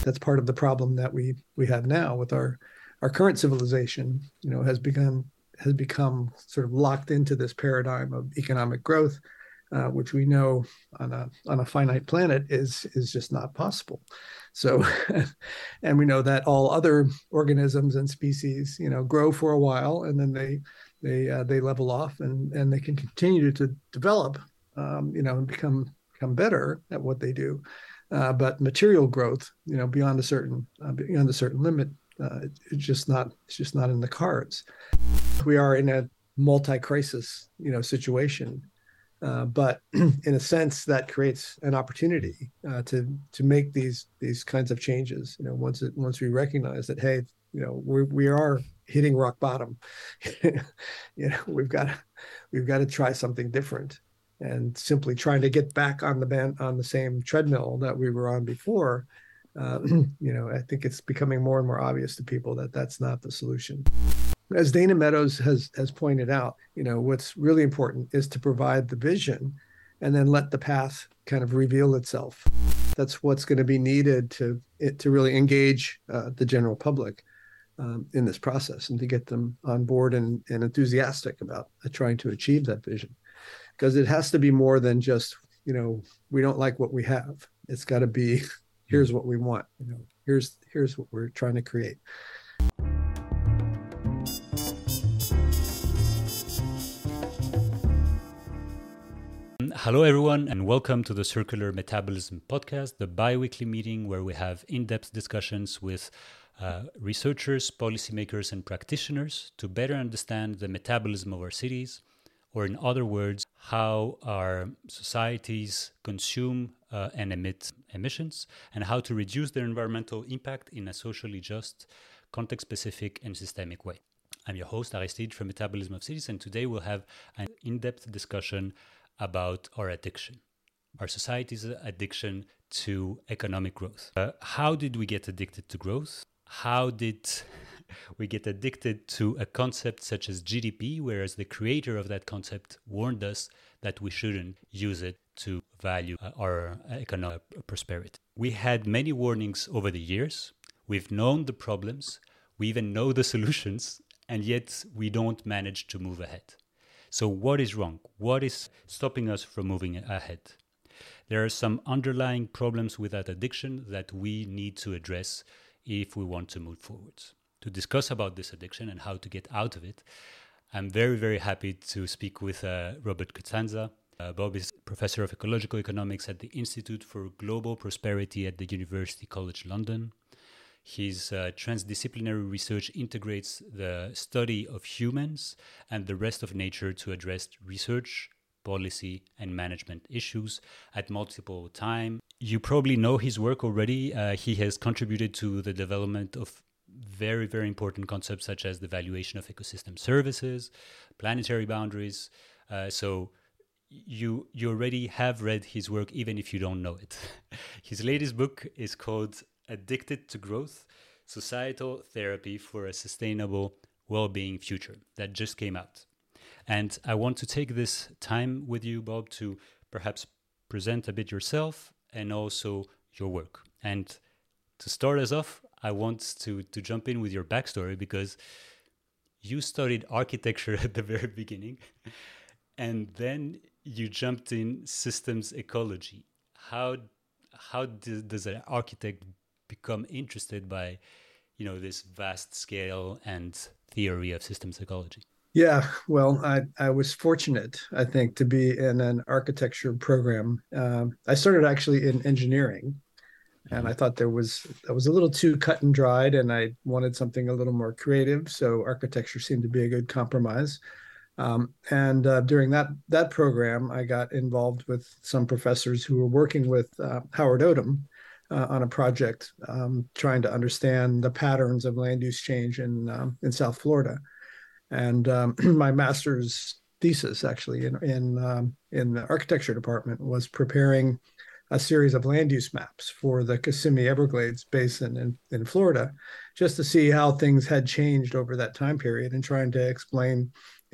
that's part of the problem that we have now with our current civilization. Has become sort of locked into this paradigm of economic growth, which we know on a finite planet is just not possible. So, and we know that all other organisms and species, grow for a while, and then they level off, and they can continue to develop, and become better at what they do. But material growth, beyond a certain limit, it's just not in the cards. We are in a multi-crisis, situation, but in a sense that creates an opportunity to make these kinds of changes. Once we recognize that, hey, we are hitting rock bottom. We've got to try something different, and simply trying to get back on the same treadmill that we were on before. I think it's becoming more and more obvious to people that that's not the solution. As Dana Meadows has pointed out, what's really important is to provide the vision, and then let the path kind of reveal itself. That's what's going to be needed to really engage the general public in this process, and to get them on board and enthusiastic about trying to achieve that vision. Because it has to be more than just, we don't like what we have. It's got to be, here's what we want. Here's what we're trying to create. Hello, everyone, and welcome to the Circular Metabolism Podcast, the bi-weekly meeting where we have in-depth discussions with researchers, policymakers, and practitioners to better understand the metabolism of our cities, or in other words, how our societies consume and emit emissions, and how to reduce their environmental impact in a socially just, context-specific, and systemic way. I'm your host, Aristide, from Metabolism of Cities, and today we'll have an in-depth discussion about our addiction, our society's addiction to economic growth. How did we get addicted to growth? How did we get addicted to a concept such as GDP, whereas the creator of that concept warned us that we shouldn't use it to value our economic prosperity? We had many warnings over the years. We've known the problems. We even know the solutions, and yet we don't manage to move ahead. So what is wrong? What is stopping us from moving ahead? There are some underlying problems with that addiction that we need to address if we want to move forward. To discuss about this addiction and how to get out of it, I'm very, very happy to speak with Robert Costanza. Bob is Professor of Ecological Economics at the Institute for Global Prosperity at the University College London. His transdisciplinary research integrates the study of humans and the rest of nature to address research, policy, and management issues at multiple times. You probably know his work already. He has contributed to the development of very, very important concepts such as the valuation of ecosystem services, planetary boundaries. So you already have read his work, even if you don't know it. His latest book is called Addicted to Growth, Societal Therapy for a Sustainable Well-Being Future, that just came out. And I want to take this time with you, Bob, to perhaps present a bit yourself and also your work. And to start us off, I want to jump in with your backstory, because you studied architecture at the very beginning, and then you jumped in systems ecology. How does an architect become interested by, this vast scale and theory of systems ecology? Yeah, well, I was fortunate, I think, to be in an architecture program. I started actually in engineering, and I thought that was a little too cut and dried, and I wanted something a little more creative. So architecture seemed to be a good compromise. And during that program, I got involved with some professors who were working with Howard Odum on a project trying to understand the patterns of land use change in South Florida. And my master's thesis, actually, in the architecture department, was preparing a series of land use maps for the Kissimmee Everglades Basin in Florida, just to see how things had changed over that time period, and trying to explain,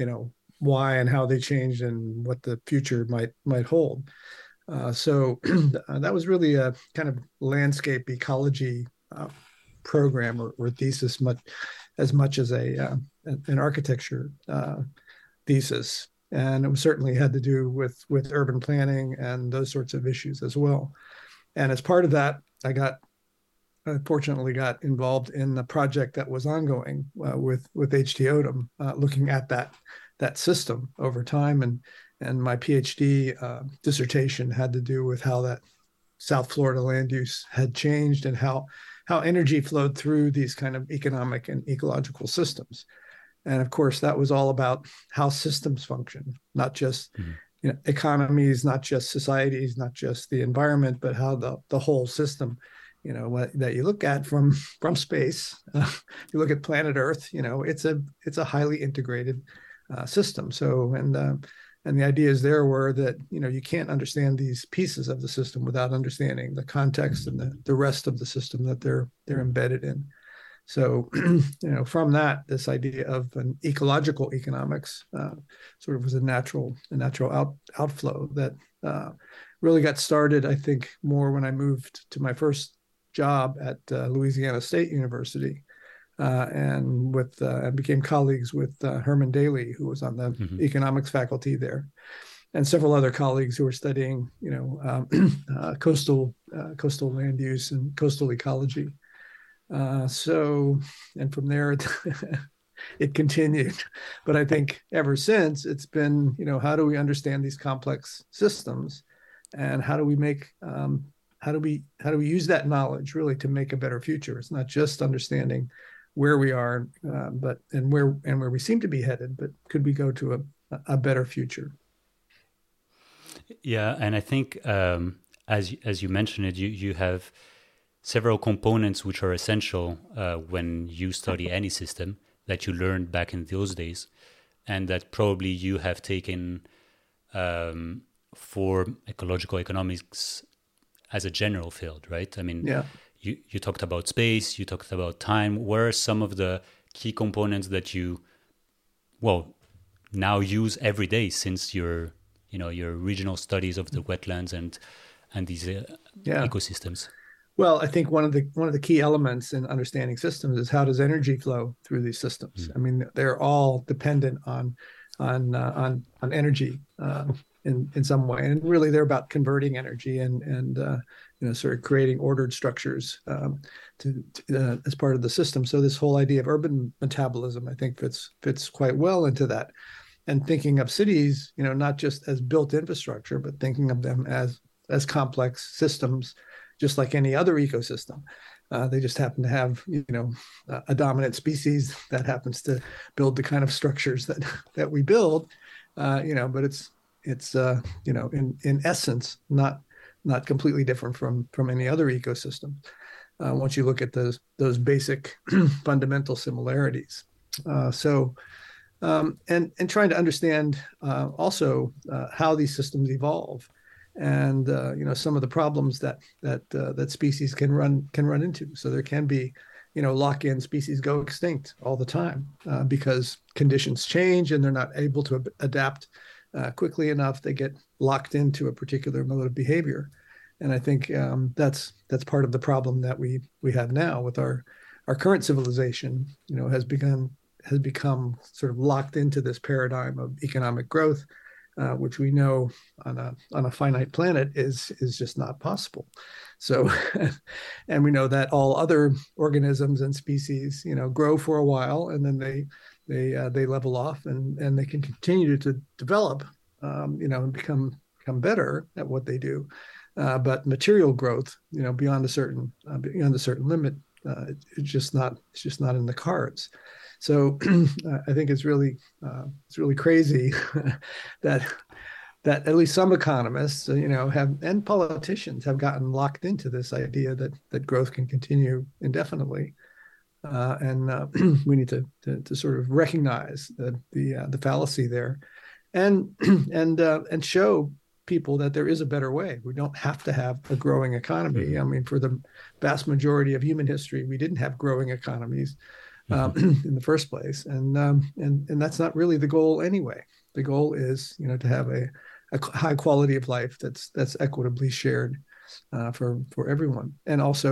why and how they changed and what the future might hold. So that was really a kind of landscape ecology program or thesis much as an architecture thesis, and it certainly had to do with urban planning and those sorts of issues as well. And as part of that, I fortunately got involved in the project that was ongoing with H.T. Odum, looking at that system over time, and my PhD dissertation had to do with how that South Florida land use had changed and how energy flowed through these kind of economic and ecological systems. And of course, that was all about how systems function, not just economies, not just societies, not just the environment, but how the whole system, that you look at from space. You look at planet Earth, it's a highly integrated system. So and the ideas there were that you can't understand these pieces of the system without understanding the context and the rest of the system that they're embedded in. So from that, this idea of an ecological economics sort of was a natural outflow that really got started, I think, more when I moved to my first job at Louisiana State University. And became colleagues with Herman Daly, who was on the economics faculty there, and several other colleagues who were studying, coastal land use and coastal ecology. And from there, it continued. But I think ever since, it's been, how do we understand these complex systems, and how do we make how do we use that knowledge really to make a better future? It's not just understanding where we are, but where we seem to be headed, but could we go to a better future? Yeah, and I think as you mentioned it, you have several components which are essential when you study any system that you learned back in those days, and that probably you have taken for ecological economics as a general field, right? I mean, yeah. You talked about space, you talked about time. Where are some of the key components that you, now use every day since your regional studies of the wetlands and these ecosystems? Well, I think one of the key elements in understanding systems is how does energy flow through these systems. I mean, they're all dependent on energy in some way, and really they're about converting energy and sort of creating ordered structures as part of the system. So this whole idea of urban metabolism, I think, fits quite well into that, and thinking of cities, not just as built infrastructure, but thinking of them as complex systems, just like any other ecosystem. They just happen to have, a dominant species that happens to build the kind of structures that we build, but it's in essence not completely different from any other ecosystem. Once you look at those basic fundamental similarities, and trying to understand also how these systems evolve, and some of the problems that species can run into. So there can be, lock-in species go extinct all the time because conditions change and they're not able to adapt quickly enough. They get locked into a particular mode of behavior, and I think that's part of the problem that we have now with our current civilization. Has become sort of locked into this paradigm of economic growth, which we know on a finite planet is just not possible. So, and we know that all other organisms and species, grow for a while, and then they level off, and they can continue to develop, and become better at what they do. But material growth, beyond a certain limit, it's just not in the cards. So I think it's really crazy that at least some economists, and politicians have gotten locked into this idea that growth can continue indefinitely, and we need to sort of recognize the fallacy there, and show people that there is a better way. We don't have to have a growing economy. I mean, for the vast majority of human history, we didn't have growing economies in the first place, and that's not really the goal anyway. The goal is, to have a high quality of life that's equitably shared for everyone, and also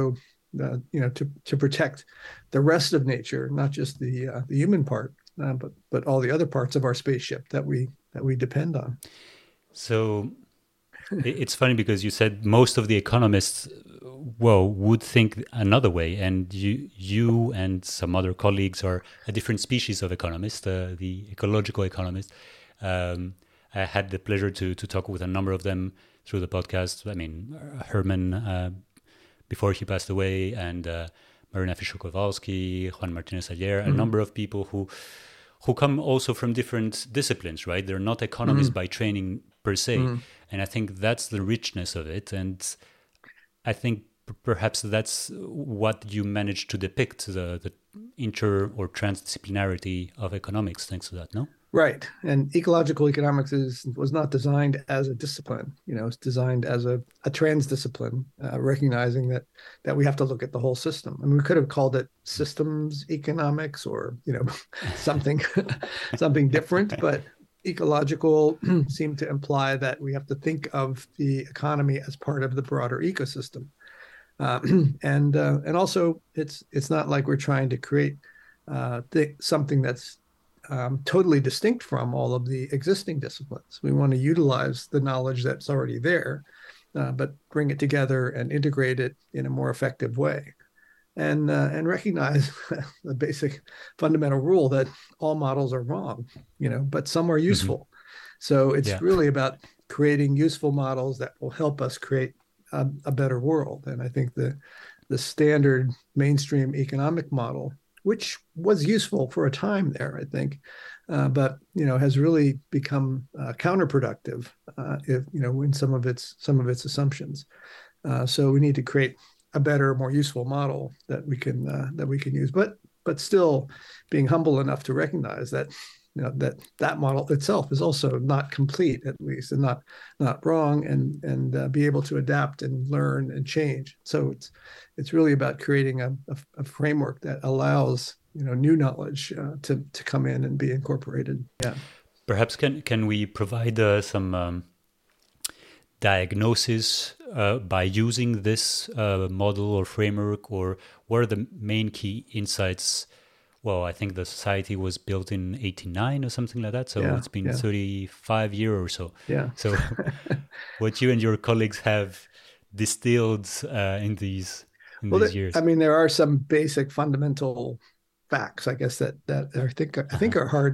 to protect the rest of nature, not just the human part, but all the other parts of our spaceship that we depend on. So it's funny because you said most of the economists, well, would think another way, and you and some other colleagues are a different species of economist, the ecological economist. I had the pleasure to talk with a number of them through the podcast. I mean, Herman before he passed away, and Marina Fischer-Kowalski, Juan Martinez Ayer, a number of people who come also from different disciplines, right? They're not economists by training per se. And I think that's the richness of it. And I think perhaps that's what you managed to depict, the inter or transdisciplinarity of economics, thanks to that, no? Right. And ecological economics was not designed as a discipline. It's designed as a transdiscipline, recognizing that we have to look at the whole system. I mean, we could have called it systems economics or, something something different, but ecological seemed to imply that we have to think of the economy as part of the broader ecosystem. And also it's not like we're trying to create something that's totally distinct from all of the existing disciplines. We want to utilize the knowledge that's already there, but bring it together and integrate it in a more effective way. And recognize the basic fundamental rule that all models are wrong, but some are useful. So it's really about creating useful models that will help us create a better world. And I think the standard mainstream economic model, which was useful for a time there, I think, but has really become counterproductive in some of its assumptions. So we need to create a better, more useful model that we can use, but still being humble enough to recognize that that model itself is also not complete, at least, and not wrong, and be able to adapt and learn and change. So it's really about creating a framework that allows new knowledge to come in and be incorporated. Yeah. Perhaps can we provide some diagnosis by using this model or framework, or what are the main key insights? Well, I think the society was built in 1989 or something like that, so it's been 35 years or so. Yeah. So what you and your colleagues have distilled in these years? I mean, there are some basic fundamental facts, I guess, that I think are hard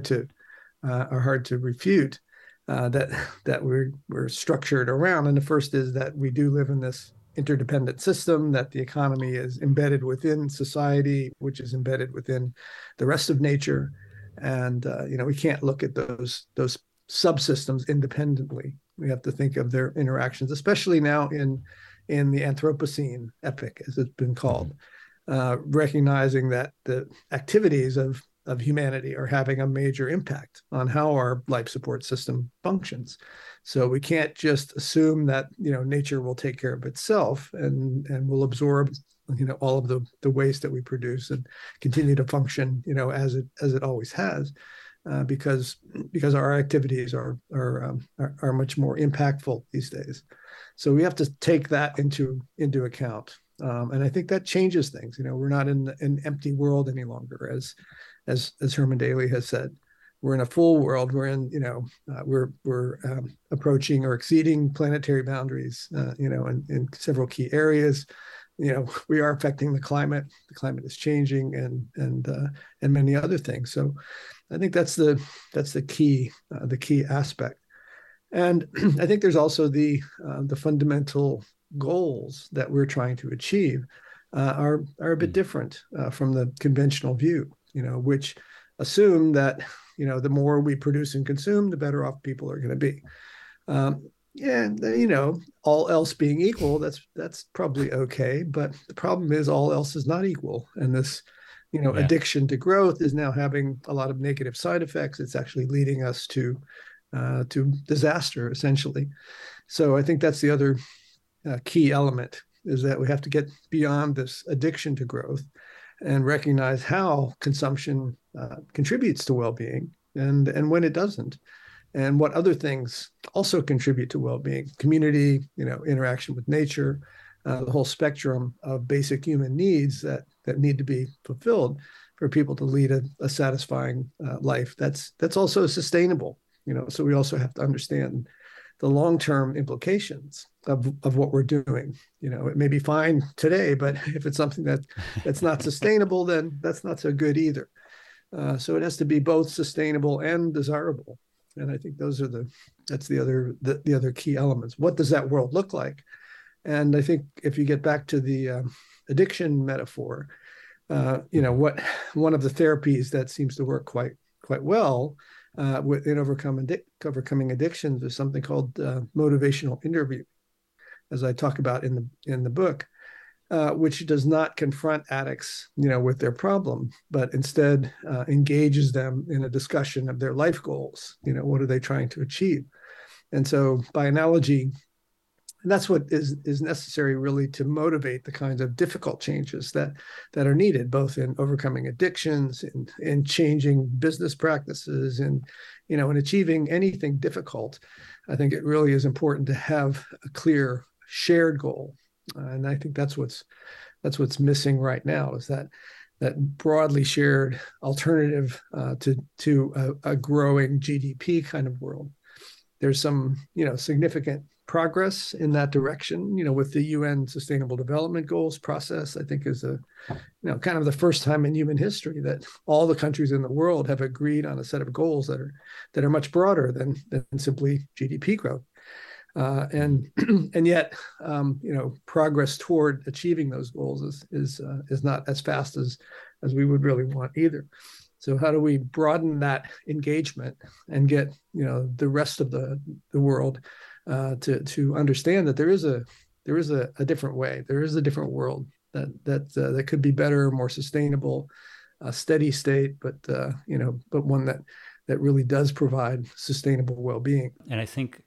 to refute. That we're structured around. And the first is that we do live in this interdependent system, that the economy is embedded within society, which is embedded within the rest of nature. And we can't look at those subsystems independently. We have to think of their interactions, especially now in the Anthropocene epoch, as it's been called, recognizing that the activities of humanity are having a major impact on how our life support system functions. So we can't just assume that nature will take care of itself and will absorb all of the waste that we produce and continue to function as it always has, because our activities are much more impactful these days. So we have to take that into account, and I think that changes things. We're not in an empty world any longer, as Herman Daly has said. We're in a full world. We're in, we're approaching or exceeding planetary boundaries, in several key areas. We are affecting the climate. The climate is changing, and many other things. So, I think that's the key aspect. And I think there's also the fundamental goals that we're trying to achieve are a bit different from the conventional view. Which assume that, the more we produce and consume, the better off people are going to be. All else being equal, that's probably okay. But the problem is all else is not equal. And this, addiction to growth is now having a lot of negative side effects. It's actually leading us to disaster, essentially. So I think that's the other key element, is that we have to get beyond this addiction to growth and recognize how consumption contributes to well-being and when it doesn't, and what other things also contribute to well-being: community, interaction with nature, the whole spectrum of basic human needs that need to be fulfilled for people to lead a satisfying life. That's also sustainable. So we also have to understand the long-term implications of what we're doing. It may be fine today, but if it's something that's not sustainable, then that's not so good either. So it has to be both sustainable and desirable. And I think that's the other key elements. What does that world look like? And I think if you get back to the addiction metaphor, what one of the therapies that seems to work quite well in overcoming addictions is something called motivational interview, as I talk about in the book, which does not confront addicts, with their problem, but instead engages them in a discussion of their life goals. What are they trying to achieve? And so, by analogy, that's what is necessary really to motivate the kinds of difficult changes that are needed, both in overcoming addictions, in changing business practices, and in achieving anything difficult. I think it really is important to have a clear shared goal, and I think that's what's missing right now, is that broadly shared alternative to a growing GDP kind of world. There's some significant progress in that direction, with the UN Sustainable Development Goals process. I think is kind of the first time in human history that all the countries in the world have agreed on a set of goals that are much broader than simply GDP growth. And yet, progress toward achieving those goals is not as fast as we would really want either. So how do we broaden that engagement and get the rest of the world to understand that there is a different way, there is a different world that could be better, more sustainable, steady state, but one that really does provide sustainable well-being. And I think,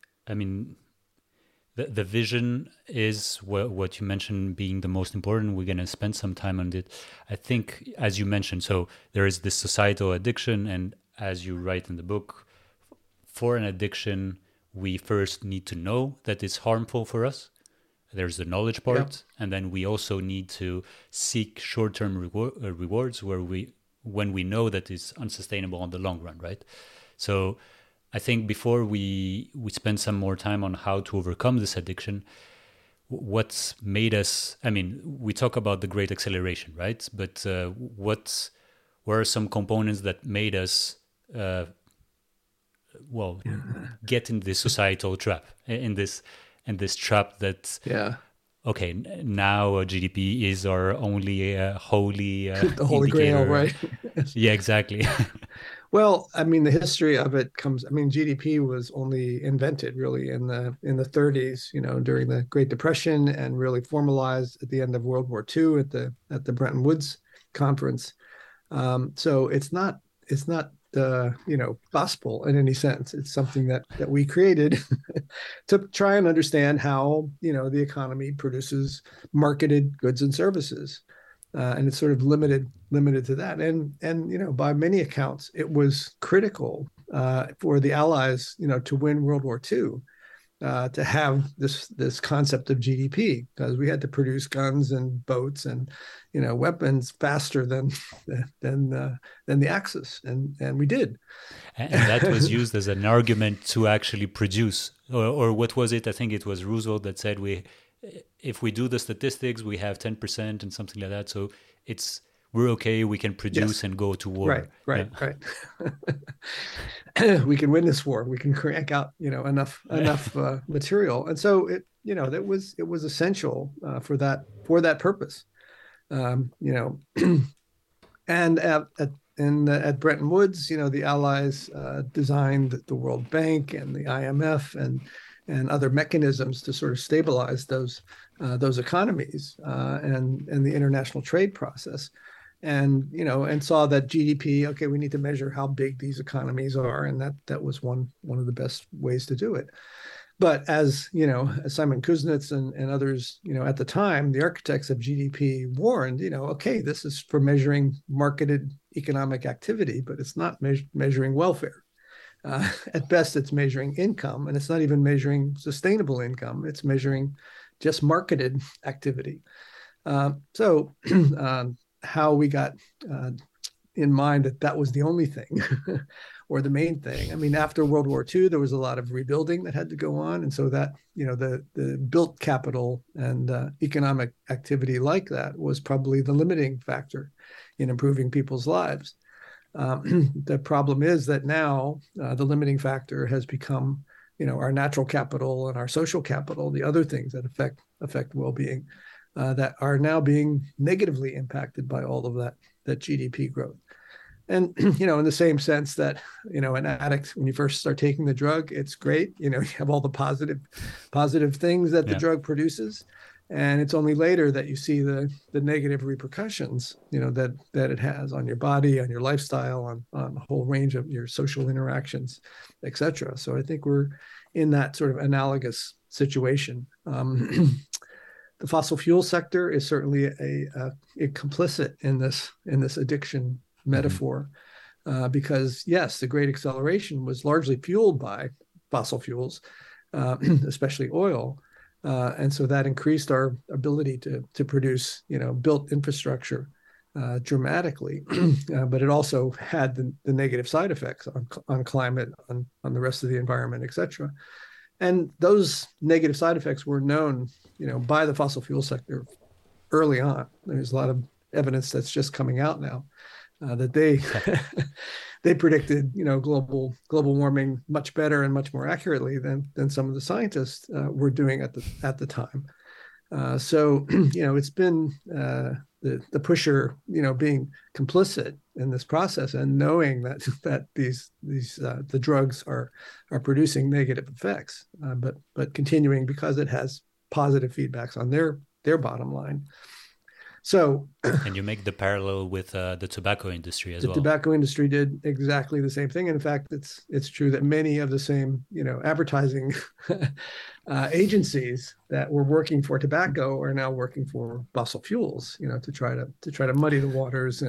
the vision is what you mentioned being the most important. We're going to spend some time on it. I think, as you mentioned, so there is this societal addiction, and as you write in the book, for an addiction, we first need to know that it's harmful for us. There's the knowledge part, and then we also need to seek short-term rewards when we know that it's unsustainable in the long run, right? So I think before we spend some more time on how to overcome this addiction, what's made us, we talk about the Great Acceleration, right? But what were some components that made us get in this societal trap, in this trap that okay, now GDP is our only holy the holy grail, right? Yeah, exactly. Well, the history of it comes. GDP was only invented really in the 30s, during the Great Depression, and really formalized at the end of World War II at the Bretton Woods conference. So it's not gospel in any sense. It's something that we created to try and understand how the economy produces marketed goods and services. And it's sort of limited to that. And by many accounts, it was critical for the Allies, to win World War II, to have this concept of GDP, because we had to produce guns and boats and weapons faster than the Axis, and we did. And that was used as an argument to actually produce, or what was it? I think it was Roosevelt that said if we do the statistics, we have 10% and something like that. So we're okay. We can produce and go to war. Right. We can win this war. We can crank out, enough material. And so it was essential for that purpose. And at Bretton Woods, the Allies designed the World Bank and the IMF and other mechanisms to sort of stabilize those economies and the international trade process, and saw that GDP. Okay, we need to measure how big these economies are, and that was one of the best ways to do it. But as Simon Kuznets and others, at the time, the architects of GDP warned, okay, this is for measuring marketed economic activity, but it's not measuring welfare. At best, it's measuring income, and it's not even measuring sustainable income. It's measuring just marketed activity. So how we got in mind that that was the only thing or the main thing. I mean, after World War II, there was a lot of rebuilding that had to go on. And so that, the built capital and economic activity like that was probably the limiting factor in improving people's lives. The problem is that now the limiting factor has become, our natural capital and our social capital, the other things that affect well-being, that are now being negatively impacted by all of that GDP growth. And, in the same sense that, an addict, when you first start taking the drug, it's great. You have all the positive things that the drug produces. And it's only later that you see the negative repercussions, that it has on your body, on your lifestyle, on a whole range of your social interactions, et cetera. So I think we're in that sort of analogous situation. The fossil fuel sector is certainly a complicit in this addiction metaphor, because yes, the great acceleration was largely fueled by fossil fuels, especially oil, and so that increased our ability to produce, built infrastructure dramatically, but it also had the negative side effects on climate, on the rest of the environment, et cetera. And those negative side effects were known, by the fossil fuel sector early on. There's a lot of evidence that's just coming out now that they predicted, global warming much better and much more accurately than some of the scientists were doing at the time. So it's been the pusher, being complicit in this process and knowing that these the drugs are producing negative effects, but continuing because it has positive feedbacks on their bottom line. So, and you make the parallel with the tobacco industry as well. The tobacco industry did exactly the same thing. In fact, it's true that many of the same, advertising agencies that were working for tobacco are now working for fossil fuels, to try to muddy the waters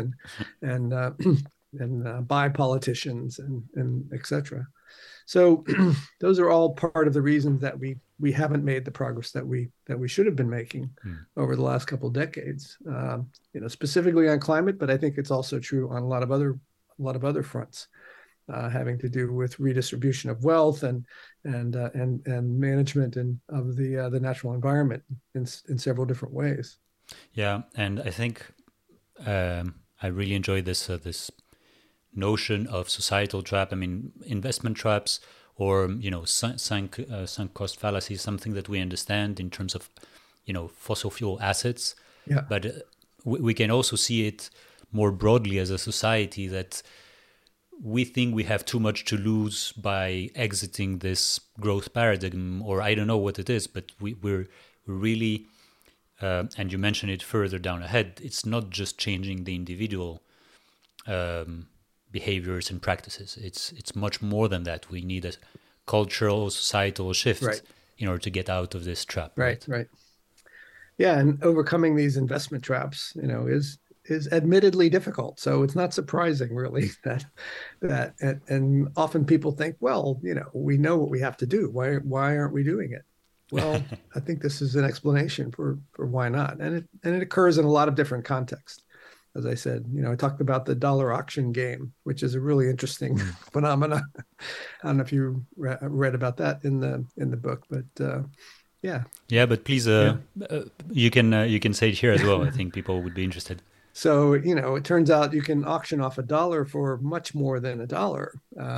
and buy politicians and et cetera. So those are all part of the reasons that we haven't made the progress that we should have been making over the last couple of decades, specifically on climate, but I think it's also true on a lot of other fronts, having to do with redistribution of wealth and management of the natural environment in several different ways. Yeah, and I think I really enjoy this notion of societal trap. I mean, investment traps, or sunk cost fallacy, something that we understand in terms of fossil fuel assets. Yeah. But we can also see it more broadly as a society, that we think we have too much to lose by exiting this growth paradigm, or I don't know what it is, but we're really, and you mentioned it further down ahead, it's not just changing the individual behaviors and practices. It's much more than that. We need a cultural, societal shift in order to get out of this trap. Right. Yeah, and overcoming these investment traps, is admittedly difficult. So it's not surprising, really, that and often people think, well, we know what we have to do. Why aren't we doing it? Well, I think this is an explanation for why not, and it occurs in a lot of different contexts. As I said, I talked about the dollar auction game, which is a really interesting phenomenon. I don't know if you read about that in the book, but yeah. Yeah, but please, you can say it here as well. I think people would be interested. So it turns out you can auction off $1 for much more than $1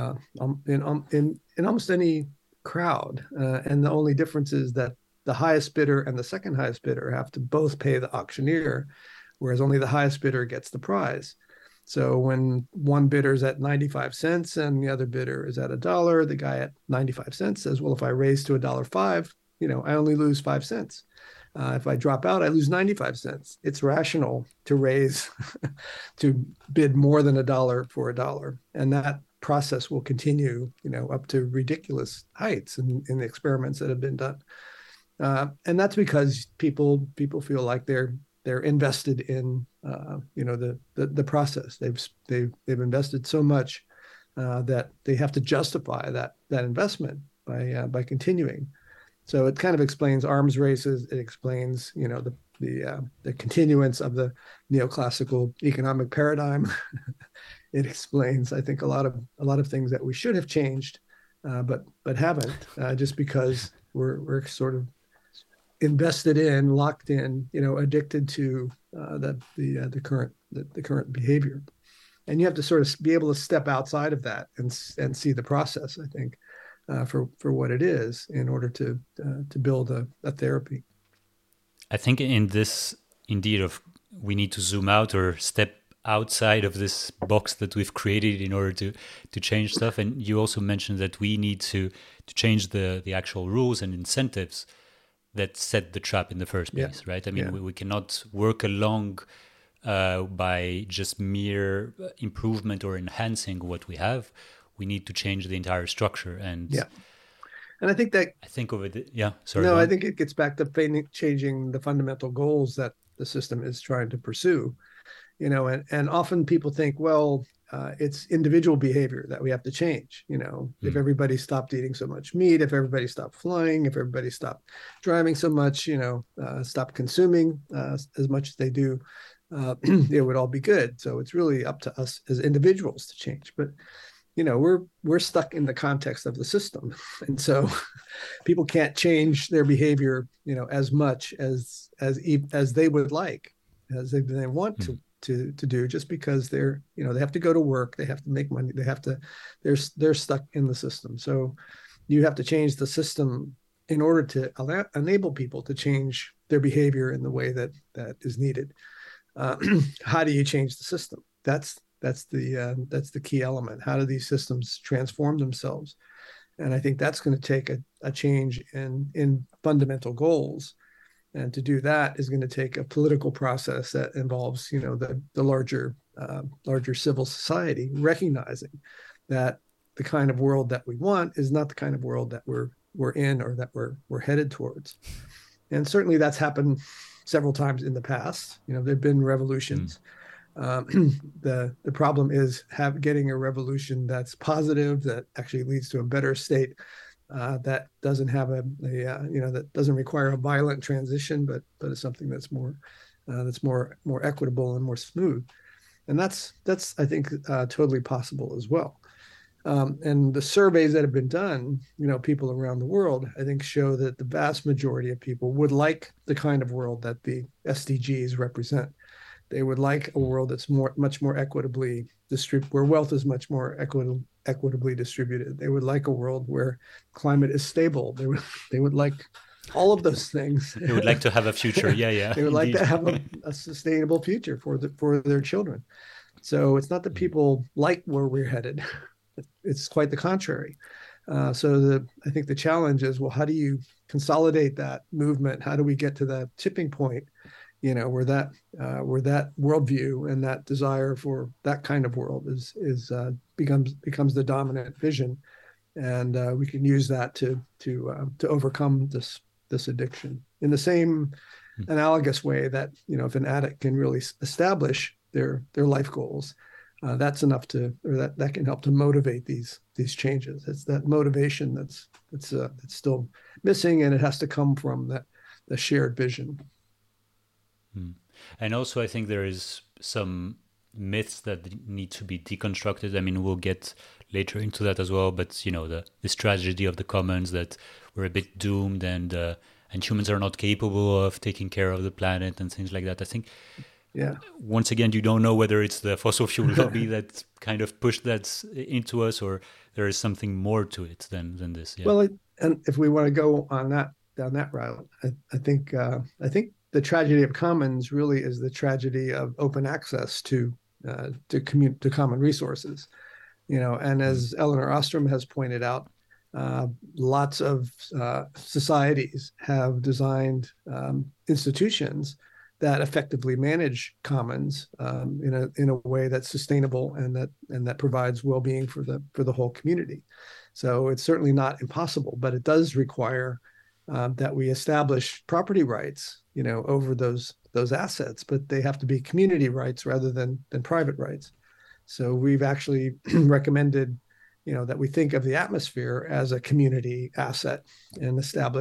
in almost any crowd, and the only difference is that the highest bidder and the second highest bidder have to both pay the auctioneer, whereas only the highest bidder gets the prize. So when one bidder's at 95 cents and the other bidder is at $1, the guy at 95 cents says, well, if I raise to $1.05, I only lose 5 cents. If I drop out, I lose 95 cents. It's rational to raise, to bid more than $1 for $1. And that process will continue, up to ridiculous heights in the experiments that have been done. And that's because people feel like they're invested in the process. They've invested so much that they have to justify that investment by continuing. So it kind of explains arms races. It explains, the continuance of the neoclassical economic paradigm. It explains, I think, a lot of things that we should have changed, but haven't, just because we're sort of invested in, locked in, addicted to the current behavior. And you have to sort of be able to step outside of that and see the process, I think, for what it is, in order to build a therapy. I think in this, indeed, of we need to zoom out or step outside of this box that we've created in order to change stuff. And you also mentioned that we need to change the actual rules and incentives that set the trap in the first place, right? I mean, we cannot work along by just mere improvement or enhancing what we have. We need to change the entire structure. And and I think of it. Yeah, sorry. No, I think it gets back to changing the fundamental goals that the system is trying to pursue. And often people think, well, it's individual behavior that we have to change. If everybody stopped eating so much meat, if everybody stopped flying, if everybody stopped driving so much, stopped consuming as much as they do, it would all be good. So it's really up to us as individuals to change. But we're stuck in the context of the system, and so people can't change their behavior, as much as they would like, as they want to do, just because they have to go to work, they have to make money, they're stuck in the system. So you have to change the system in order to enable people to change their behavior in the way that is needed. How do you change the system? That's the key element. How do these systems transform themselves? And I think that's going to take a change in fundamental goals. And to do that is going to take a political process that involves, the larger civil society recognizing that the kind of world that we want is not the kind of world that we're in, or that we're headed towards. And certainly that's happened several times in the past. There've been revolutions. The problem is getting a revolution that's positive, that actually leads to a better state, that doesn't have that doesn't require a violent transition, but is something that's more equitable and more smooth. And that's I think totally possible as well. And the surveys that have been done, people around the world, I think, show that the vast majority of people would like the kind of world that the SDGs represent. They would like a world that's much more equitably distributed, where wealth is much more equitably distributed. They would like a world where climate is stable. They would like all of those things. They would like to have a future. Yeah. They would like to have a sustainable future for their children. So it's not that people like where we're headed. It's quite the contrary. So I think the challenge is, well, how do you consolidate that movement? How do we get to that tipping point, where that worldview and that desire for that kind of world becomes the dominant vision, and we can use that to overcome this addiction. In the same analogous way that, if an addict can really establish their life goals, that's enough that can help to motivate these changes. It's that motivation that's still missing, and it has to come from the shared vision. And also, I think there is some myths that need to be deconstructed. I mean, we'll get later into that as well. But this tragedy of the commons, that we're a bit doomed, and humans are not capable of taking care of the planet and things like that. I think. Yeah. Once again, you don't know whether it's the fossil fuel lobby that kind of pushed that into us, or there is something more to it than this. Yeah. Well, and if we want to go down that route, I think the tragedy of commons really is the tragedy of open access to common resources. And as Elinor Ostrom has pointed out, lots of societies have designed institutions that effectively manage commons in a way that's sustainable and that provides well-being for the whole community. So it's certainly not impossible, but it does require that we establish property rights, over those assets, but they have to be community rights rather than private rights. So we've actually recommended, that we think of the atmosphere as a community asset and establish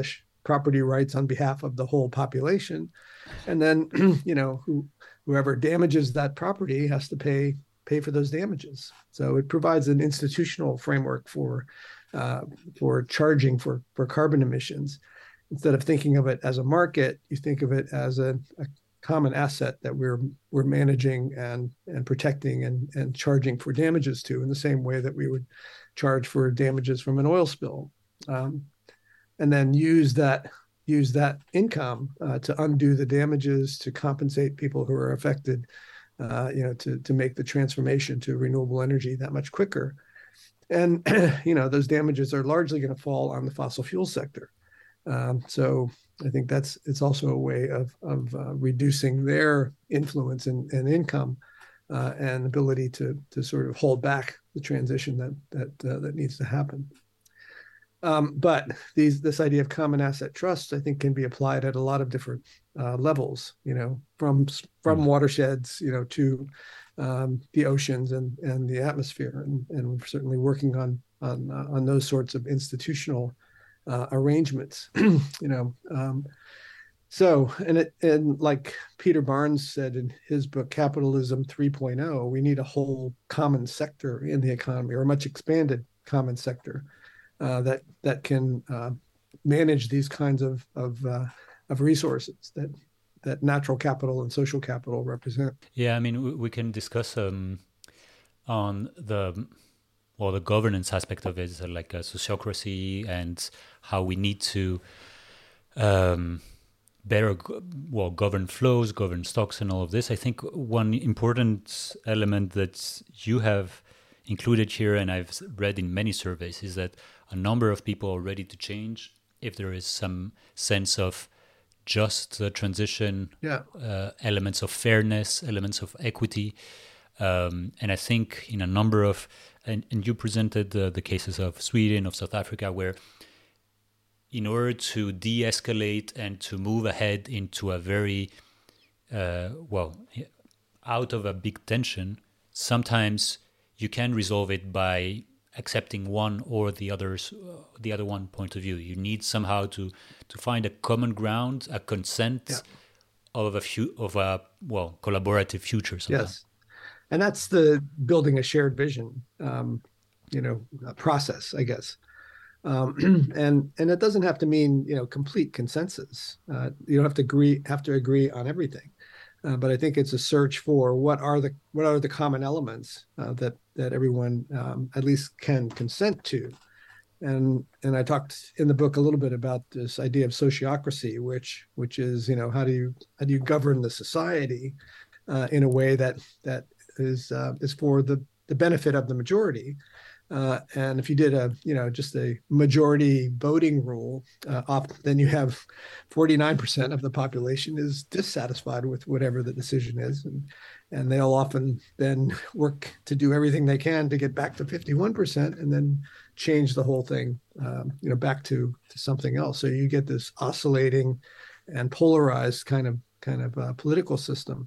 property rights on behalf of the whole population. And then, whoever damages that property has to pay for those damages. So it provides an institutional framework for charging for carbon emissions. Instead of thinking of it as a market, you think of it as a common asset that we're managing and protecting and charging for damages to, in the same way that we would charge for damages from an oil spill, and then use that income to undo the damages, to compensate people who are affected, to make the transformation to renewable energy that much quicker. And those damages are largely going to fall on the fossil fuel sector. So I think it's also a way of reducing their influence and income and ability to sort of hold back the transition that needs to happen. But this idea of common asset trusts, I think, can be applied at a lot of different levels. From watersheds, to the oceans and the atmosphere, and we're certainly working on those sorts of institutional arrangements. So, and like Peter Barnes said in his book Capitalism 3.0, we need a whole common sector in the economy, or a much expanded common sector that can manage these kinds of resources that natural capital and social capital represent. Yeah, I mean, we can discuss on the governance aspect of it, so like a sociocracy, and how we need to better govern flows, govern stocks, and all of this. I think one important element that you have included here, and I've read in many surveys, is that a number of people are ready to change if there is some sense of just transition, elements of fairness, elements of equity. And I think in a number of, and you presented the cases of Sweden, of South Africa, where in order to de-escalate and to move ahead into a very, out of a big tension, sometimes you can resolve it by accepting one or the other one point of view. You need somehow to find a common ground, a consent of a collaborative future. Somehow. Yes, and that's the building a shared vision, process, I guess. And it doesn't have to mean complete consensus. You don't have to agree on everything. But I think it's a search for what are the common elements that everyone at least can consent to, and I talked in the book a little bit about this idea of sociocracy, which is how do you govern the society in a way that is for the benefit of the majority. And if you did just a majority voting rule, then you have 49% of the population is dissatisfied with whatever the decision is, and they'll often then work to do everything they can to get back to 51%, and then change the whole thing, back to something else. So you get this oscillating and polarized kind of political system,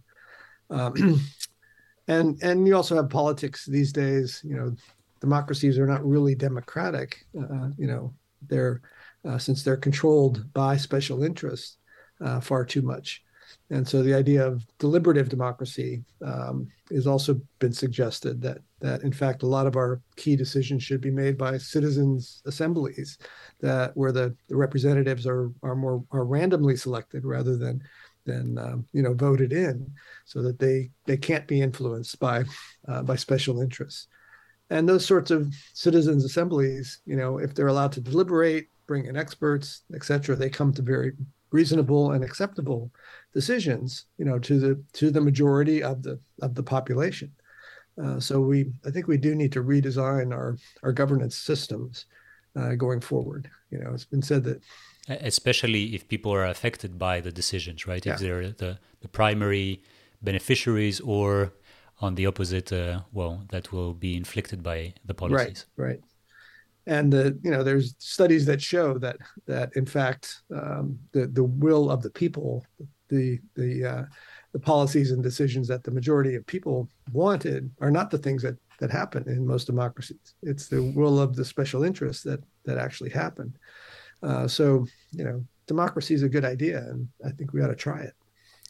and you also have politics these days. Democracies are not really democratic. They're since they're controlled by special interests far too much. And so the idea of deliberative democracy has also been suggested, that in fact a lot of our key decisions should be made by citizens' assemblies, where the representatives are randomly selected rather than voted in, so that they can't be influenced by special interests. And those sorts of citizens' assemblies, if they're allowed to deliberate, bring in experts, et cetera, they come to very reasonable and acceptable decisions, to the majority of the population. So I think we do need to redesign our governance systems going forward. It's been said that, especially if people are affected by the decisions, right? Yeah. If they're the primary beneficiaries, or on the opposite, that will be inflicted by the policies. Right. And there's studies that show that in fact the will of the people, the policies and decisions that the majority of people wanted, are not the things that happen in most democracies. It's the will of the special interests that actually happen. So democracy is a good idea, and I think we ought to try it.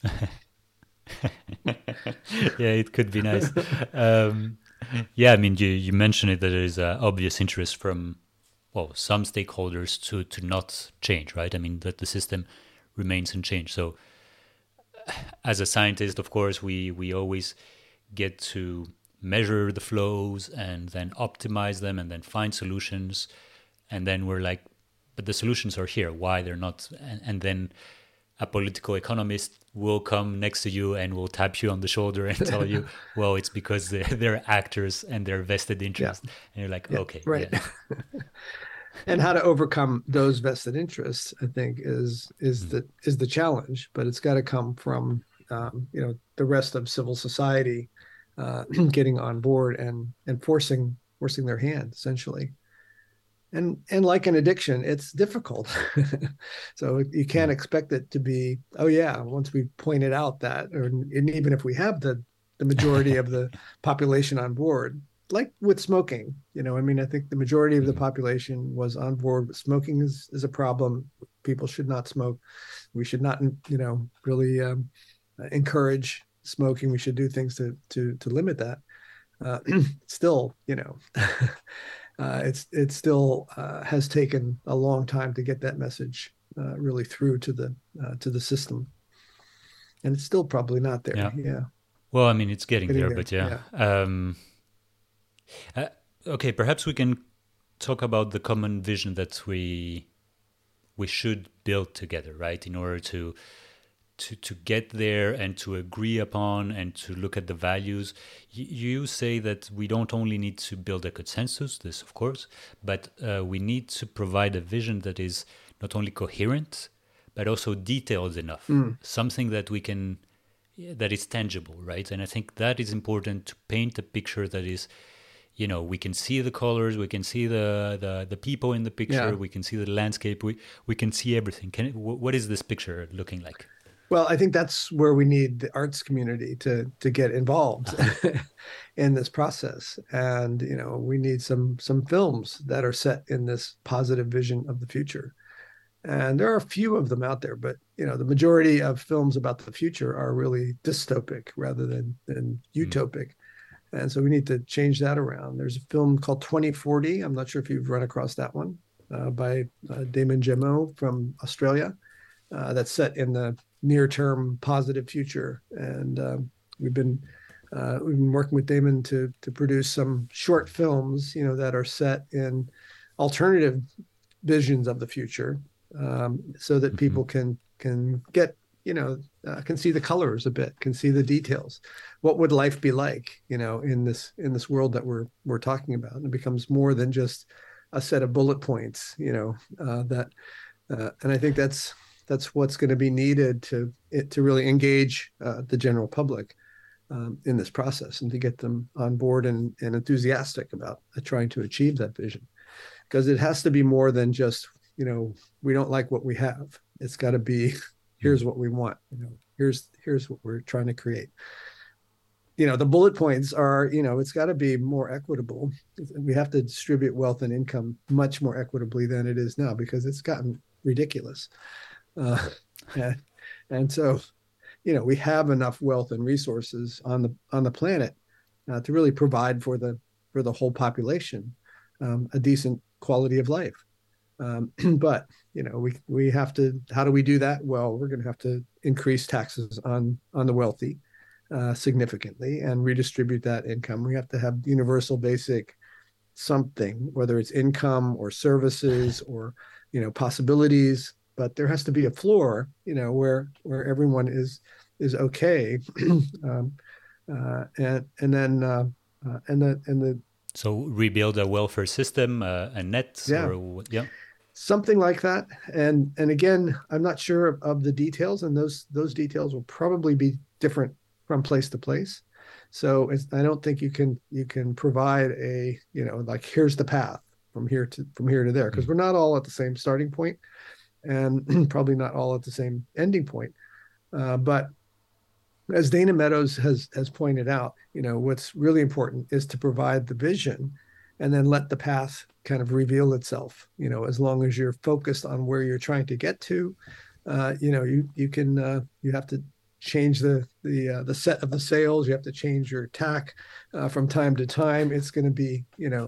Yeah, it could be nice. Um, yeah, I mean, you mentioned it that there is obvious interest from, well, some stakeholders to not change, right? I mean, that the system remains unchanged. So, as a scientist, of course, we always get to measure the flows and then optimize them and then find solutions. And then we're like, but the solutions are here. Why they're not? And then a political economist will come next to you and will tap you on the shoulder and tell you, well, it's because they're actors and they're vested Yeah, interest. And you're like, yeah, okay, right. yeah. And how to overcome those vested interests, I think, is the challenge. But it's got to come from the rest of civil society getting on board and forcing their hand, essentially. And like an addiction, it's difficult. So you can't expect it to be, oh yeah, once we pointed out that, or and even if we have the majority of the population on board, like with smoking, I mean, I think the majority of the population was on board with smoking is a problem. People should not smoke. We should not, really encourage smoking. We should do things to limit that. Still, it still has taken a long time to get that message really through to the system, and it's still probably not there. Yeah. Yeah, Well, I mean, it's getting getting there, there. but yeah. Yeah. Okay, perhaps we can talk about the common vision that we should build together, right? In order to get there and to agree upon and to look at the values. You say that we don't only need to build a consensus, this of course, but we need to provide a vision that is not only coherent, but also detailed enough, something that we can, that is tangible, right? And I think that is important to paint a picture that is, we can see the colors, we can see the people in the picture, Yeah. we can see the landscape, we can see everything. What is this picture looking like? Well, I think that's where we need the arts community to get involved in this process, and we need some films that are set in this positive vision of the future. And there are a few of them out there, but the majority of films about the future are really dystopic rather than utopic. And so we need to change that around. There's a film called 2040. I'm not sure if you've run across that one, by Damon Jemo from Australia, that's set in the near-term positive future. And we've been working with Damon to produce some short films, that are set in alternative visions of the future, so that people can get, can see the colors a bit, can see the details. What would life be like, in this world that we're talking about? And it becomes more than just a set of bullet points, and I think that's what's going to be needed to really engage the general public in this process, and to get them on board and enthusiastic about trying to achieve that vision. Because it has to be more than just, we don't like what we have. It's got to be, here's what we want. Here's what we're trying to create. The bullet points are, it's got to be more equitable. We have to distribute wealth and income much more equitably than it is now, because it's gotten ridiculous. And so, we have enough wealth and resources on the planet to really provide for the whole population a decent quality of life. But we have to. How do we do that? Well, we're going to have to increase taxes on the wealthy significantly and redistribute that income. We have to have universal basic something, whether it's income or services or possibilities. But there has to be a floor, where everyone is okay, and the So rebuild a welfare system, a net, yeah, or yeah. something like that. And again, I'm not sure of the details, and those details will probably be different from place to place. So I don't think you can provide a like, here's the path from here to there, because we're not all at the same starting point, and probably not all at the same ending point. But as Dana Meadows has pointed out, what's really important is to provide the vision and then let the path kind of reveal itself. As long as you're focused on where you're trying to get to, you can you have to change the set of the sails. You have to change your tack from time to time. It's going to be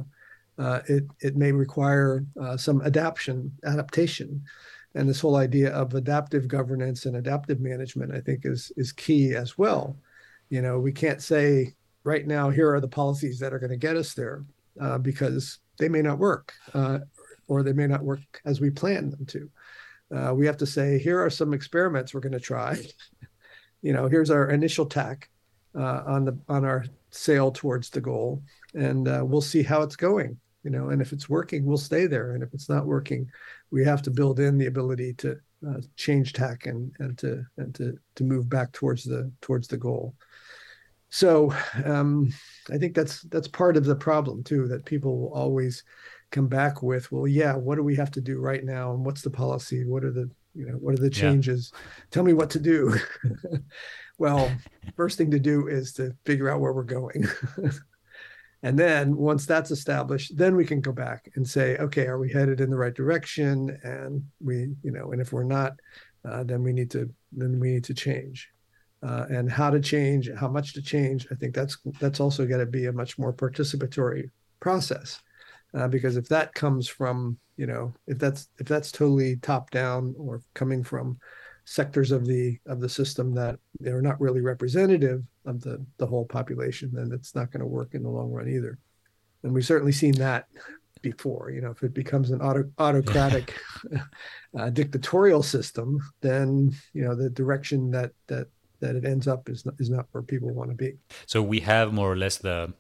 it may require some adaptation, and this whole idea of adaptive governance and adaptive management, I think, is key as well. We can't say right now here are the policies that are going to get us there because they may not work or they may not work as we plan them to. We have to say here are some experiments we're going to try. Here's our initial tack on our sail towards the goal, and we'll see how it's going. And if it's working, we'll stay there. And if it's not working, we have to build in the ability to change tack and to move back towards the goal. So I think that's part of the problem too, that people will always come back with, well, yeah, what do we have to do right now, and what's the policy? What are the changes? Yeah. Tell me what to do. Well, first thing to do is to figure out where we're going. And then once that's established, then we can go back and say, okay, are we headed in the right direction? And and if we're not, then we need to change. And how to change, how much to change. I think that's also got to be a much more participatory process, because if that comes from, if that's totally top down or coming from sectors of the system that they're not really representative of the whole population, then it's not going to work in the long run either. And we've certainly seen that before. If it becomes an autocratic dictatorial system, then the direction that it ends up is not where people want to be. So we have more or less the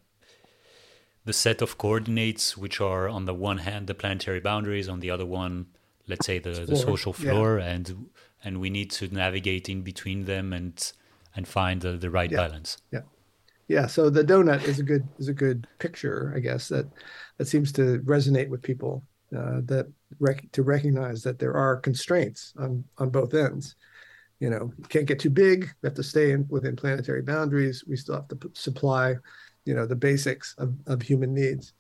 set of coordinates, which are on the one hand the planetary boundaries, on the other one, let's say the social floor, yeah. and we need to navigate in between them and find the right balance. Yeah. So the donut is a good picture, I guess, that seems to resonate with people, to recognize that there are constraints on both ends. You can't get too big. We have to stay within planetary boundaries. We still have to supply, the basics of human needs.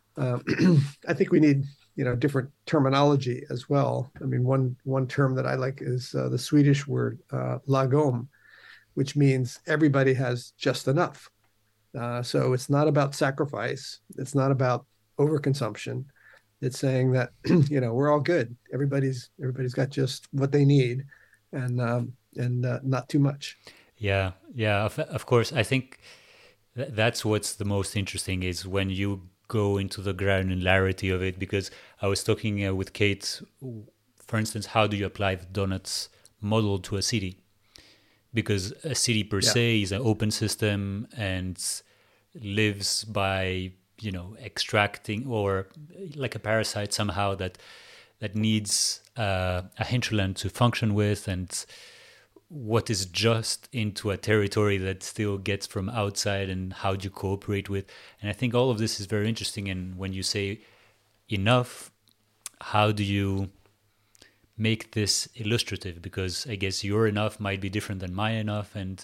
I think we need, different terminology as well. I mean, one term that I like is the Swedish word lagom, which means everybody has just enough. So it's not about sacrifice. It's not about overconsumption. It's saying that, we're all good. Everybody's got just what they need, and not too much. Yeah. Of course, I think that's what's the most interesting is when you go into the granularity of it. Because I was talking with Kate, for instance, how do you apply the donuts model to a city? Because a city per se is an open system and lives by extracting, or like a parasite somehow that needs a hinterland to function with, and what is just into a territory that still gets from outside, and how do you cooperate with. And I think all of this is very interesting. And when you say enough, how do you make this illustrative? Because I guess your enough might be different than my enough. And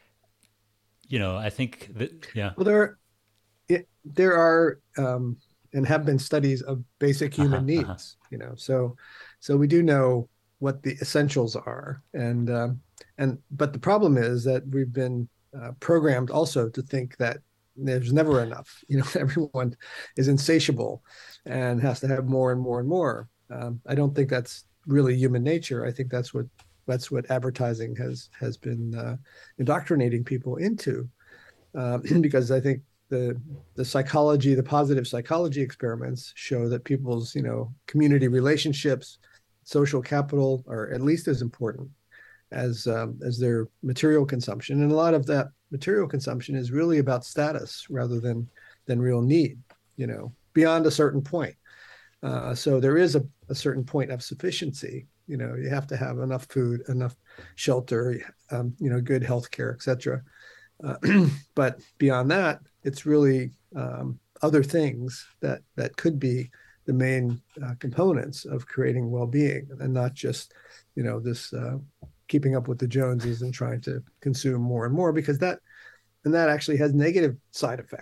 I think that well, there are and have been studies of basic human needs. So we do know what the essentials are, but the problem is that we've been programmed also to think that there's never enough. Everyone is insatiable and has to have more and more and more. I don't think that's really human nature. I think that's what advertising has been indoctrinating people into, because I think the psychology, the positive psychology experiments show that people's community relationships, social capital are at least as important as their material consumption, and a lot of that material consumption is really about status rather than real need. Beyond a certain point. So there is a certain point of sufficiency. You have to have enough food, enough shelter, good healthcare, etc. But beyond that, it's really other things that could be the main components of creating well-being, and not just this keeping up with the Joneses and trying to consume more and more, because that actually has negative side effects.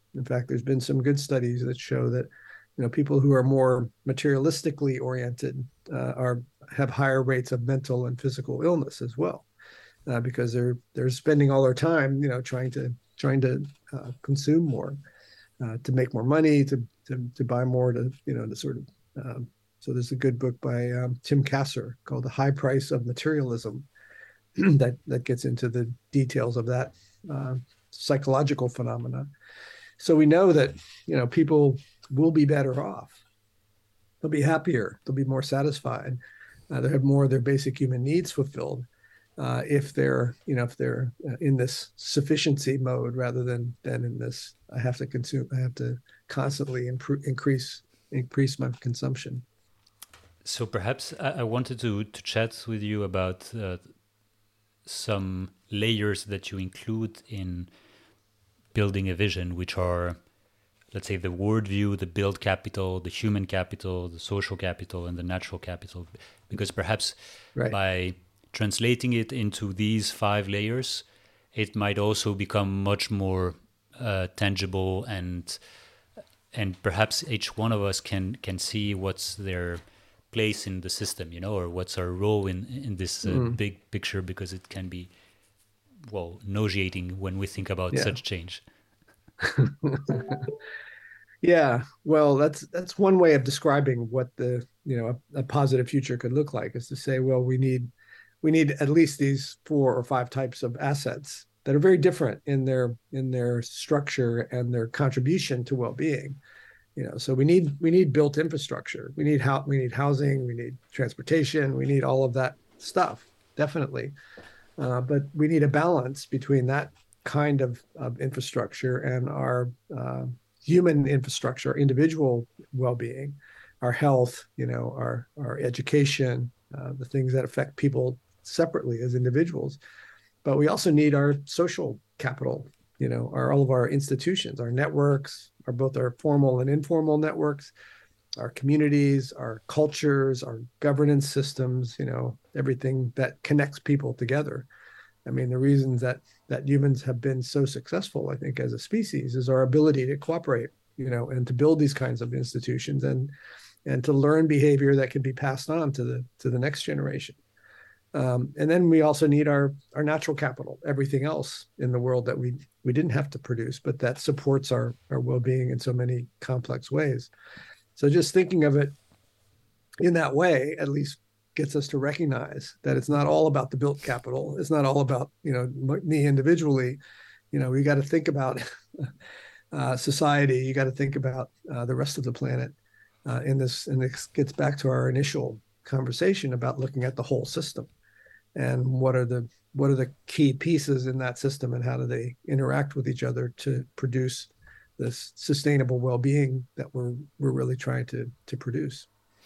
In fact, there's been some good studies that show that people who are more materialistically oriented are have higher rates of mental and physical illness as well, because they're spending all their time trying to consume more, to make more money, to buy more, to sort of so there's a good book by Tim Kasser called The High Price of Materialism that gets into the details of that psychological phenomena. So we know that people will be better off. They'll be happier. They'll be more satisfied. They'll have more of their basic human needs fulfilled if they're in this sufficiency mode rather than in this I have to consume. I have to constantly increase my consumption. So perhaps I wanted to chat with you about some layers that you include in building a vision, which are, let's say, the worldview, the build capital, the human capital, the social capital, and the natural capital. Because perhaps by translating it into these 5 layers, it might also become much more tangible, and perhaps each one of us can see what's their place in the system, or what's our role in this big picture, because it can be, nauseating when we think about such change. Yeah, well, that's one way of describing what a positive future could look like, is to say, well, we need at least these 4 or 5 types of assets that are very different in their structure and their contribution to well-being. So we need built infrastructure. We need housing. We need transportation. We need all of that stuff, definitely. But we need a balance between that kind of infrastructure and our human infrastructure, individual well-being, our health, our education, the things that affect people separately as individuals. But we also need our social capital, all of our institutions, our networks, both our formal and informal networks, our communities, our cultures, our governance systems, everything that connects people together. I mean, the reasons that humans have been so successful, I think, as a species, is our ability to cooperate, and to build these kinds of institutions and to learn behavior that can be passed on to the next generation. And then we also need our natural capital, everything else in the world that we didn't have to produce, but that supports our well-being in so many complex ways. So just thinking of it in that way, at least gets us to recognize that it's not all about the built capital. It's not all about, me individually. We got to think about society. You got to think about the rest of the planet in this. And this gets back to our initial conversation about looking at the whole system and what are the key pieces in that system and how do they interact with each other to produce this sustainable well-being that we're really trying to produce.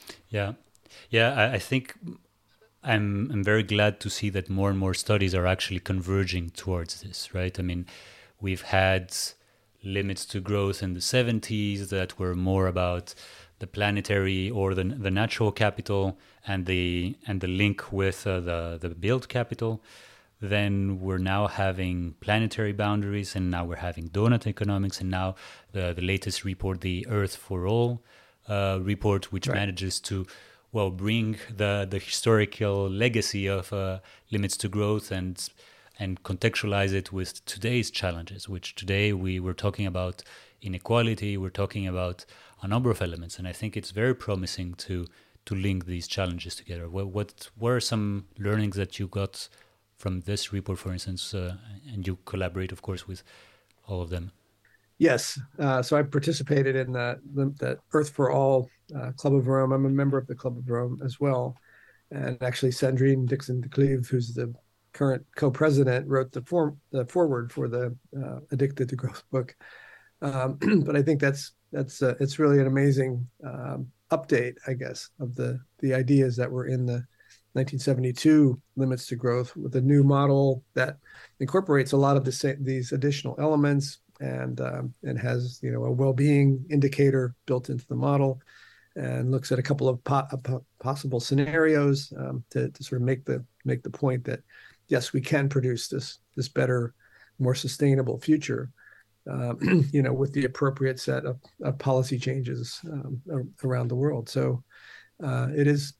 I think I'm very glad to see that more and more studies are actually converging towards this, right? I mean, we've had limits to growth in the 70s that were more about the planetary or the natural capital and the link with the build capital. Then we're now having planetary boundaries, and now we're having donut economics, and now the latest report, the Earth for All report, which manages to bring the historical legacy of limits to growth and contextualize it with today's challenges, which today we were talking about inequality, we're talking about a number of elements, and I think it's very promising to link these challenges together. What were some learnings that you got from this report, for instance, and you collaborate, of course, with all of them? Yes. So I participated in that Earth for All Club of Rome. I'm a member of the Club of Rome as well. And actually, Sandrine Dixon de Cleve, who's the current co-president, wrote the foreword for the Addicted to Growth book. But I think it's really an amazing update, I guess, of the ideas that were in the 1972 Limits to Growth, with a new model that incorporates a lot of these additional elements and has a well-being indicator built into the model, and looks at a couple of possible scenarios to sort of make the point that yes, we can produce this better, more sustainable future. with the appropriate set of policy changes around the world. So it is.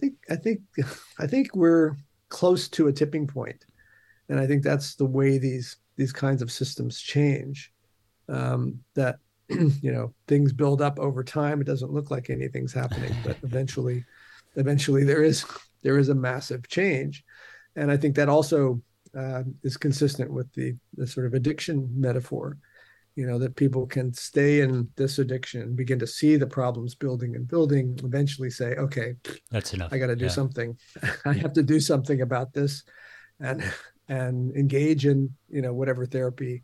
I think we're close to a tipping point, and I think that's the way these kinds of systems change. That things build up over time. It doesn't look like anything's happening, but eventually there is a massive change, and I think that also is consistent with the sort of addiction metaphor. That people can stay in this addiction, begin to see the problems building and building, eventually say, okay, That's enough. I got to do Yeah. something. I have to do something about this, and engage in whatever therapy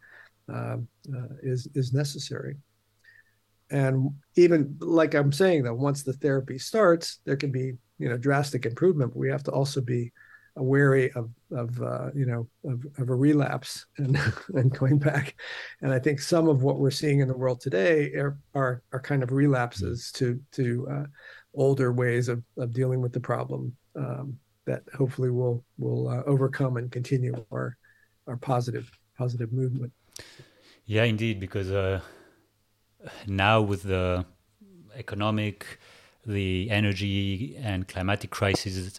is necessary. And even like I'm saying, though, once the therapy starts, there can be drastic improvement, but we have to also be wary of a relapse and and going back. And I think some of what we're seeing in the world today are kind of relapses to older ways of dealing with the problem, that hopefully will overcome and continue our positive movement. Yeah, indeed, because now with the economic, the energy and climatic crisis,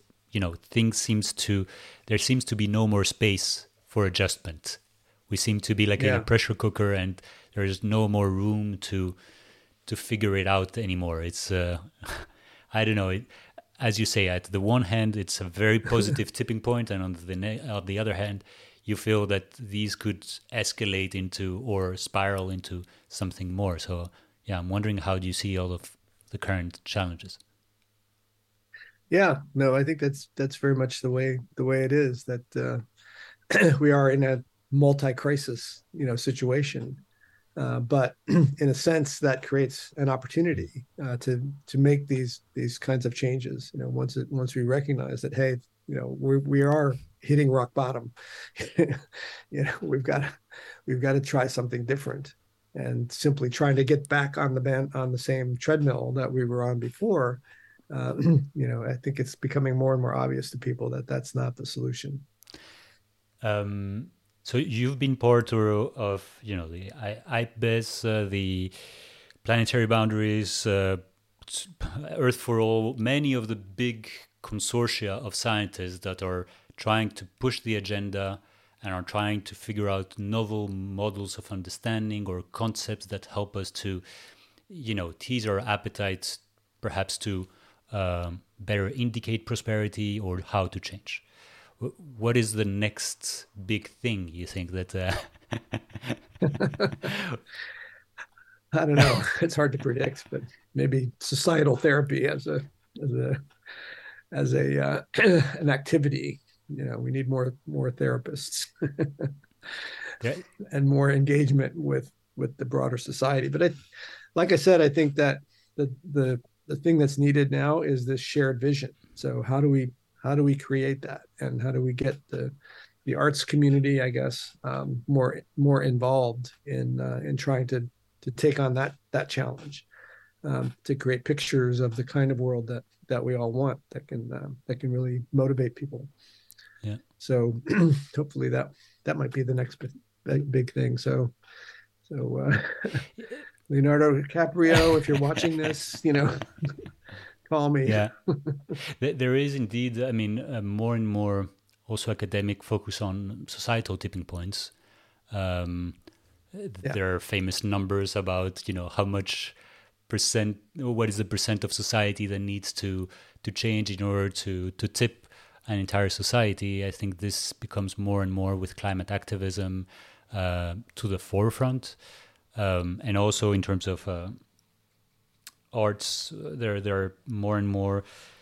there seems to be no more space for adjustment. We seem to be like in a pressure cooker, and there is no more room to figure it out anymore. It's I don't know. As you say, at the one hand, it's a very positive tipping point, and on the other hand, you feel that these could escalate into or spiral into something more. So, yeah, I'm wondering, how do you see all of the current challenges? Yeah, no, I think that's very much the way it is, that we are in a multi-crisis situation, but in a sense that creates an opportunity to make these kinds of changes. Once we recognize that, hey, we are hitting rock bottom. We've got to try something different, and simply trying to get back on the same treadmill that we were on before. I think it's becoming more and more obvious to people that that's not the solution. So you've been part of, the IPBES, the Planetary Boundaries, Earth for All, many of the big consortia of scientists that are trying to push the agenda and are trying to figure out novel models of understanding or concepts that help us to, tease our appetites, perhaps to better indicate prosperity or how to change. What is the next big thing you think that? I don't know. It's hard to predict, but maybe societal therapy as a an activity. We need more therapists there, and more engagement with the broader society. But like I said, I think that the thing that's needed now is this shared vision. So how do we create that, and how do we get the arts community, I guess, more involved in trying to take on that challenge, to create pictures of the kind of world that we all want, that can really motivate people. yeah. So hopefully that might be the next big thing. So Leonardo DiCaprio, if you're watching this, call me. Yeah, there is indeed. I mean, more and more also academic focus on societal tipping points. Um, Yeah. there are famous numbers about how much percent, what is the percent of society that needs to change in order to tip an entire society. I think this becomes more and more with climate activism to the forefront, and also in terms of arts, there are more and more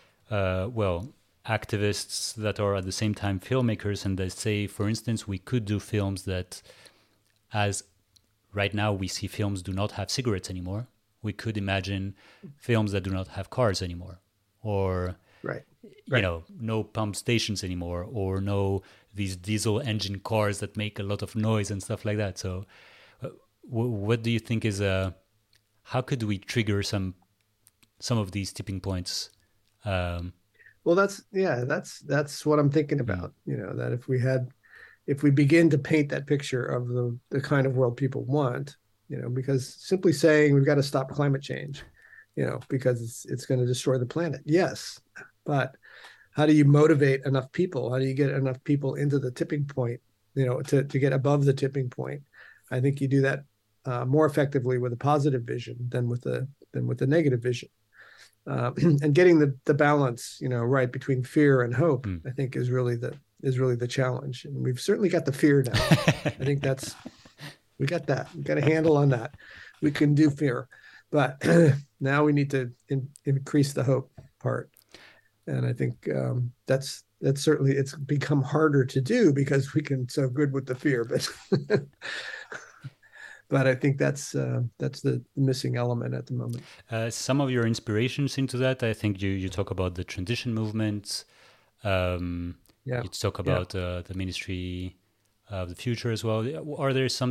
activists that are at the same time filmmakers, and they say, for instance, we could do films that, as right now we see films do not have cigarettes anymore, we could imagine films that do not have cars anymore, or Right. no pump stations anymore, or no these diesel engine cars that make a lot of noise and stuff like that. So what do you think is how could we trigger some of these tipping points? Well, that's what I'm thinking about. That if we had if we begin to paint that picture of the kind of world people want, because simply saying we've got to stop climate change, because it's going to destroy the planet. Yes, but how do you motivate enough people? How do you get enough people into the tipping point, to get above the tipping point? I think you do that more effectively with a positive vision than with a negative vision. And getting the balance, right between fear and hope, I think is really the challenge. And we've certainly got the fear now. I think we got a handle on that. We can do fear, but now we need to increase the hope part. And I think that's certainly, it's become harder to do because we can so good with the fear, but but I think that's the missing element at the moment. Some of your inspirations into that, I think you talk about the transition movements. You talk about the Ministry of the Future as well. Are there some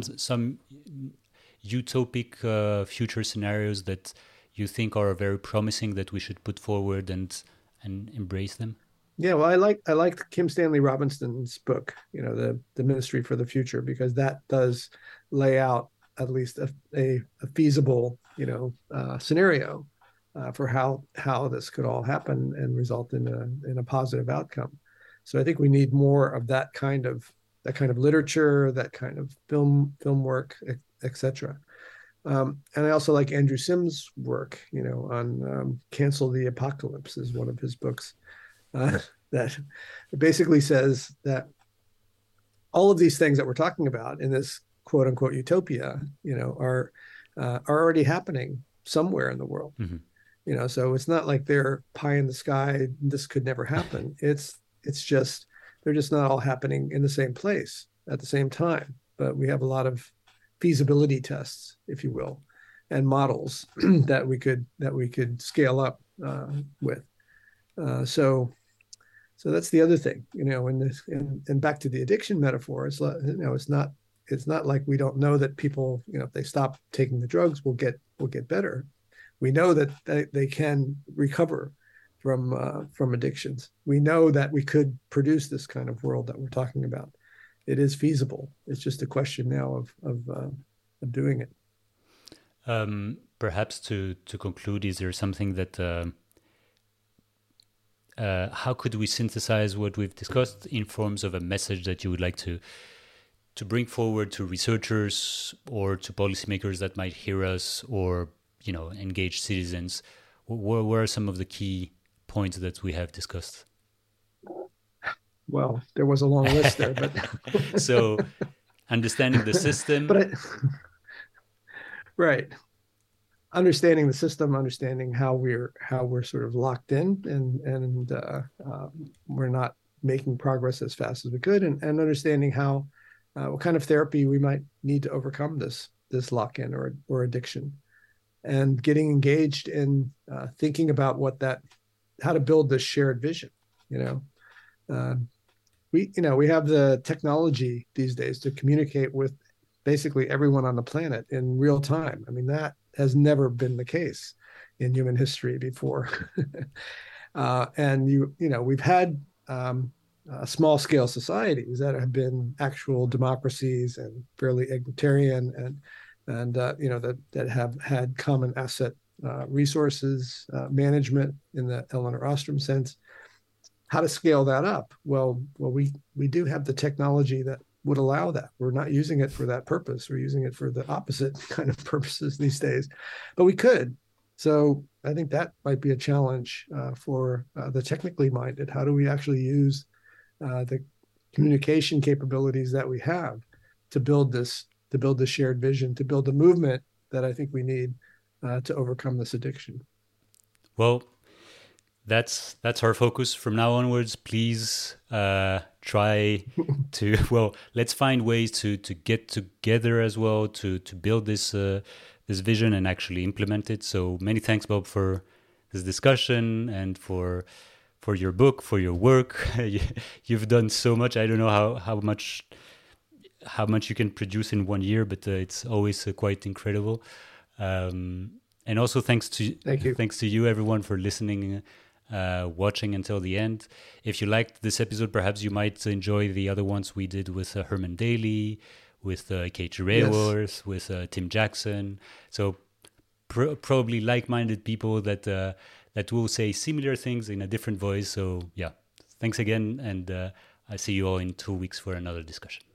utopic future scenarios that you think are very promising that we should put forward and embrace them? Yeah, well, I liked Kim Stanley Robinson's book, the Ministry for the Future, because that does lay out at least a feasible, scenario for how this could all happen and result in a positive outcome. So I think we need more of that kind of literature, that kind of film work, etc. And I also like Andrew Sims' work, on Cancel the Apocalypse is one of his books that basically says that all of these things that we're talking about in this quote unquote utopia, are already happening somewhere in the world. Mm-hmm. So it's not like they're pie in the sky. This could never happen. It's just, they're just not all happening in the same place at the same time. But we have a lot of feasibility tests, if you will, and models that we could scale up with. So that's the other thing, and back to the addiction metaphor. It's not like we don't know that people, if they stop taking the drugs, will get better. We know that they can recover from addictions. We know that we could produce this kind of world that we're talking about. It is feasible. It's just a question now of doing it. Perhaps to conclude, is there something that how could we synthesize what we've discussed in forms of a message that you would like to bring forward to researchers or to policymakers that might hear us, or engaged citizens? What are some of the key points that we have discussed? Well, there was a long list there, but so understanding the system, right? Understanding the system, understanding how we're sort of locked in, and we're not making progress as fast as we could, and understanding how what kind of therapy we might need to overcome this lock-in or addiction, and getting engaged in thinking about how to build this shared vision. We have the technology these days to communicate with basically everyone on the planet in real time. I mean, that has never been the case in human history before. And we've had small scale societies that have been actual democracies and fairly egalitarian, and that have had common asset resources management in the Elinor Ostrom sense. How to scale that up? Well, we do have the technology that would allow that. We're not using it for that purpose. We're using it for the opposite kind of purposes these days, but we could. So I think that might be a challenge for the technically minded. How do we actually use the communication capabilities that we have to build this shared vision, to build the movement that I think we need to overcome this addiction? Well, that's our focus from now onwards. Please try to let's find ways to get together as well to build this vision and actually implement it. So many thanks, Bob, for this discussion and for your book, for your work. You've done so much. I don't know how much you can produce in 1 year, but it's always quite incredible. And also thanks to you, everyone, for listening watching until the end. If you liked this episode, perhaps you might enjoy the other ones we did with Herman Daly, with Kate Raworth, with Tim Jackson. So probably like-minded people that will say similar things in a different voice. So yeah, thanks again, and I see you all in 2 weeks for another discussion.